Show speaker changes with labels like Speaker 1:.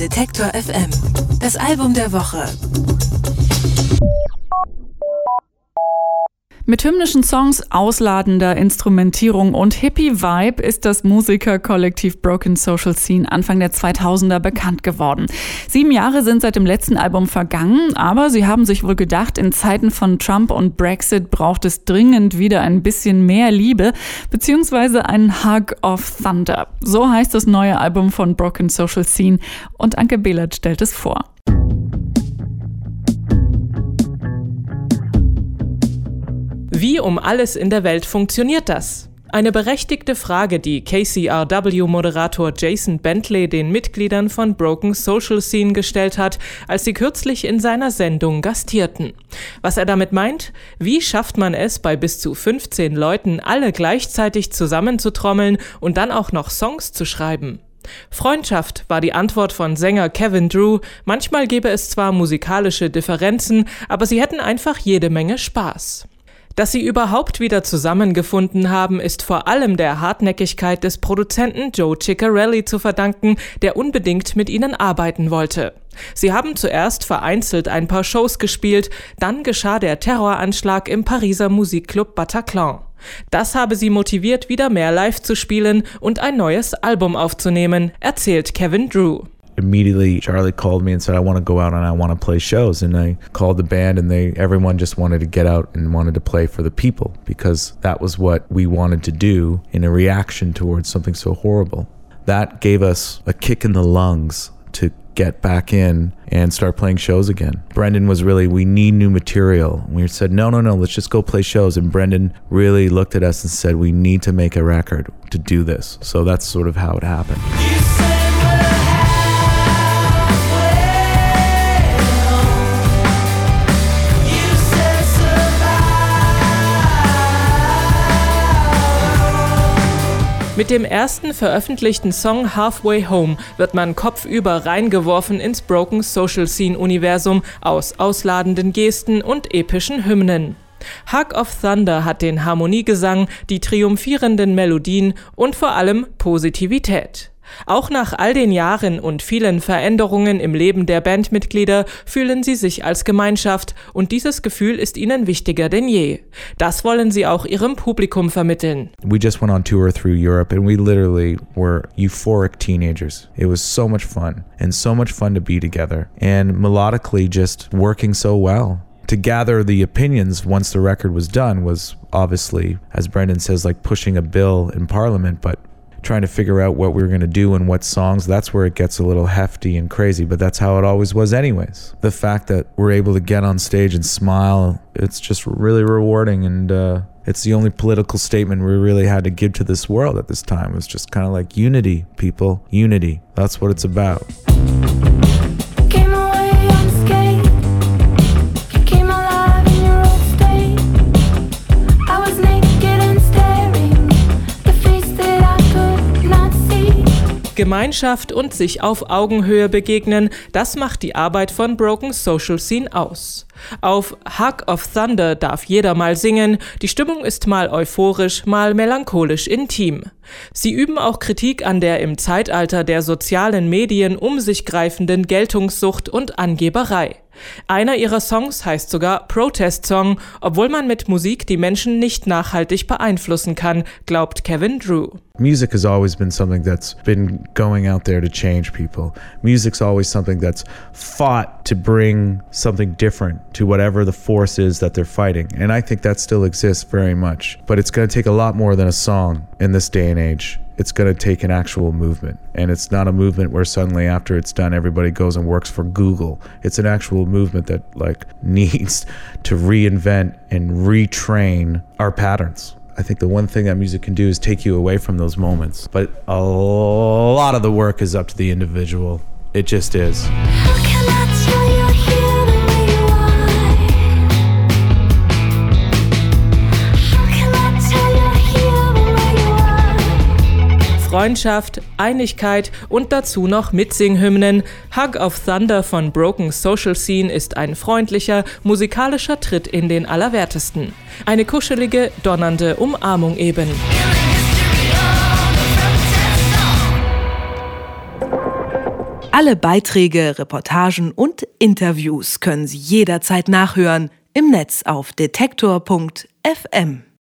Speaker 1: Detektor FM. Das Album der Woche.
Speaker 2: Mit hymnischen Songs, ausladender Instrumentierung und Hippie-Vibe ist das Musikerkollektiv Broken Social Scene Anfang der 2000er bekannt geworden. 7 Jahre sind seit dem letzten Album vergangen, aber sie haben sich wohl gedacht, in Zeiten von Trump und Brexit braucht es dringend wieder ein bisschen mehr Liebe, beziehungsweise einen Hug of Thunder. So heißt das neue Album von Broken Social Scene und Anke Behlert stellt es vor.
Speaker 3: Wie um alles in der Welt funktioniert das? Eine berechtigte Frage, die KCRW-Moderator Jason Bentley den Mitgliedern von Broken Social Scene gestellt hat, als sie kürzlich in seiner Sendung gastierten. Was er damit meint? Wie schafft man es, bei bis zu 15 Leuten alle gleichzeitig zusammenzutrommeln und dann auch noch Songs zu schreiben? Freundschaft war die Antwort von Sänger Kevin Drew. Manchmal gäbe es zwar musikalische Differenzen, aber sie hätten einfach jede Menge Spaß. Dass sie überhaupt wieder zusammengefunden haben, ist vor allem der Hartnäckigkeit des Produzenten Joe Ciccarelli zu verdanken, der unbedingt mit ihnen arbeiten wollte. Sie haben zuerst vereinzelt ein paar Shows gespielt, dann geschah der Terroranschlag im Pariser Musikclub Bataclan. Das habe sie motiviert, wieder mehr live zu spielen und ein neues Album aufzunehmen, erzählt Kevin Drew.
Speaker 4: Immediately, Charlie called me and said, I want to go out and I want to play shows. And I called the band and everyone just wanted to get out and wanted to play for the people because that was what we wanted to do in a reaction towards something so horrible. That gave us a kick in the lungs to get back in and start playing shows again. Brendan was really, we need new material. We said, no, let's just go play shows. And Brendan really looked at us and said, we need to make a record to do this. So that's sort of how it happened.
Speaker 3: Mit dem ersten veröffentlichten Song Halfway Home wird man kopfüber reingeworfen ins Broken Social Scene Universum aus ausladenden Gesten und epischen Hymnen. Hug of Thunder hat den Harmoniegesang, die triumphierenden Melodien und vor allem Positivität. Auch nach all den Jahren und vielen Veränderungen im Leben der Bandmitglieder fühlen sie sich als Gemeinschaft und dieses Gefühl ist ihnen wichtiger denn je. Das wollen sie auch ihrem Publikum vermitteln.
Speaker 4: We just went on tour through Europe and we literally were euphoric teenagers. It was so much fun to be together and melodically just working so well. To gather the opinions once the record was done was obviously, as Brendan says, like pushing a bill in Parliament, but trying to figure out what we were going to do and what songs, that's where it gets a little hefty and crazy, but that's how it always was anyways. The fact that we're able to get on stage and smile, it's just really rewarding, and it's the only political statement we really had to give to this world at this time. It was just kind of like unity, people, unity. That's what it's about.
Speaker 3: Gemeinschaft und sich auf Augenhöhe begegnen, das macht die Arbeit von Broken Social Scene aus. Auf Hug of Thunder darf jeder mal singen, die Stimmung ist mal euphorisch, mal melancholisch intim. Sie üben auch Kritik an der im Zeitalter der sozialen Medien um sich greifenden Geltungssucht und Angeberei. Einer ihrer Songs heißt sogar Protest Song, obwohl man mit Musik die Menschen nicht nachhaltig beeinflussen kann, glaubt Kevin Drew.
Speaker 4: Music has always been something that's been going out there to change people. Music's always something that's fought to bring something different to whatever the force is that they're fighting. And I think that still exists very much. But it's going to take a lot more than a song in this day and age. It's going to take an actual movement. And it's not a movement where suddenly after it's done, everybody goes and works for Google. It's an actual movement that needs to reinvent and retrain our patterns. I think the one thing that music can do is take you away from those moments. But a lot of the work is up to the individual. It just is.
Speaker 5: How can I tell you're here the way you are? How can I tell you're here the way you are?
Speaker 3: Freundschaft, Einigkeit und dazu noch Mitsinghymnen. Hug of Thunder von Broken Social Scene ist ein freundlicher, musikalischer Tritt in den Allerwertesten. Eine kuschelige, donnernde Umarmung eben.
Speaker 6: Alle Beiträge, Reportagen und Interviews können Sie jederzeit nachhören im Netz auf detektor.fm.